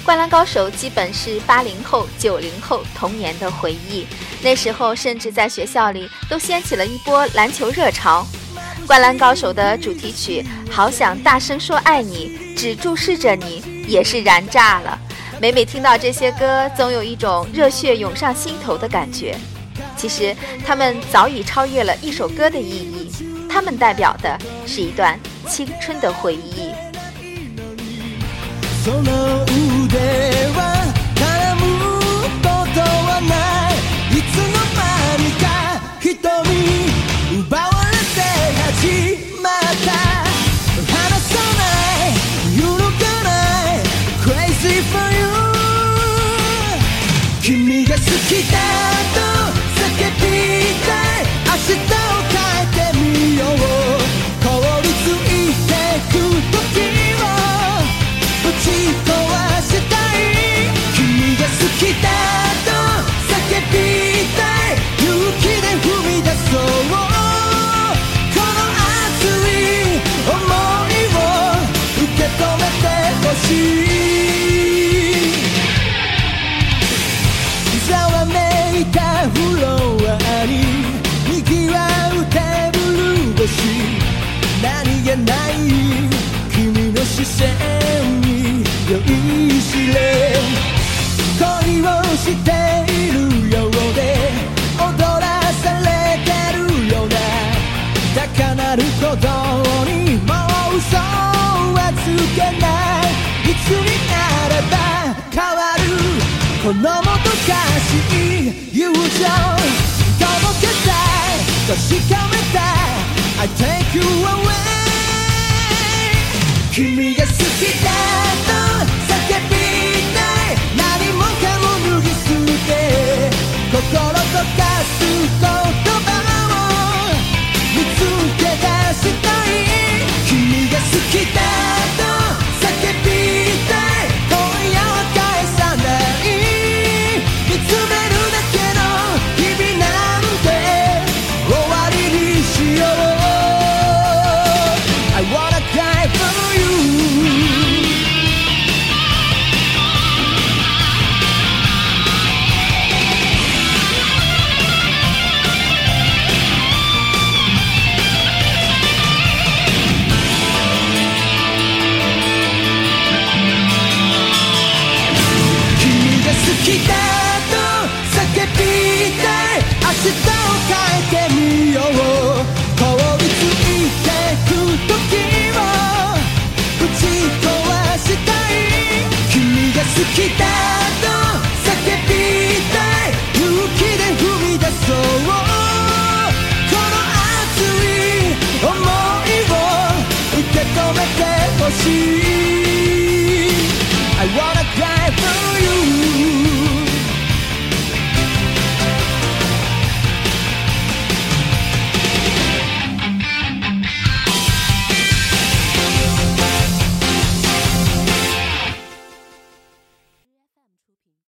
灌篮高手基本是80后、90后童年的回忆，那时候甚至在学校里都掀起了一波篮球热潮。灌篮高手的主题曲《好想大声说爱你》，只注视着你，也是燃炸了。每听到这些歌，总有一种热血涌上心头的感觉。其实他们早已超越了一首歌的意义，他们代表的是一段青春的回忆。 その腕は絡むことはない、いつの間にか瞳奪われて始まった、離さない揺るがない Crazy for you、 君が好きだと叫びたい、明日を変えてみよう、凍りついてく時打ち壊したい、君が好きだと叫びたい、勇気で踏み出そう、この熱い想いを受け止めてほしい、ざわめいたフロアに賑わうテーブル越し、何気ない君の視線に酔いしれ、恋をしているようで踊らされてるような高鳴る鼓動にもう嘘はつけない、いつになれば変わるこのもどかしい友情、届けたい確かめたい I take you away、君が好きだと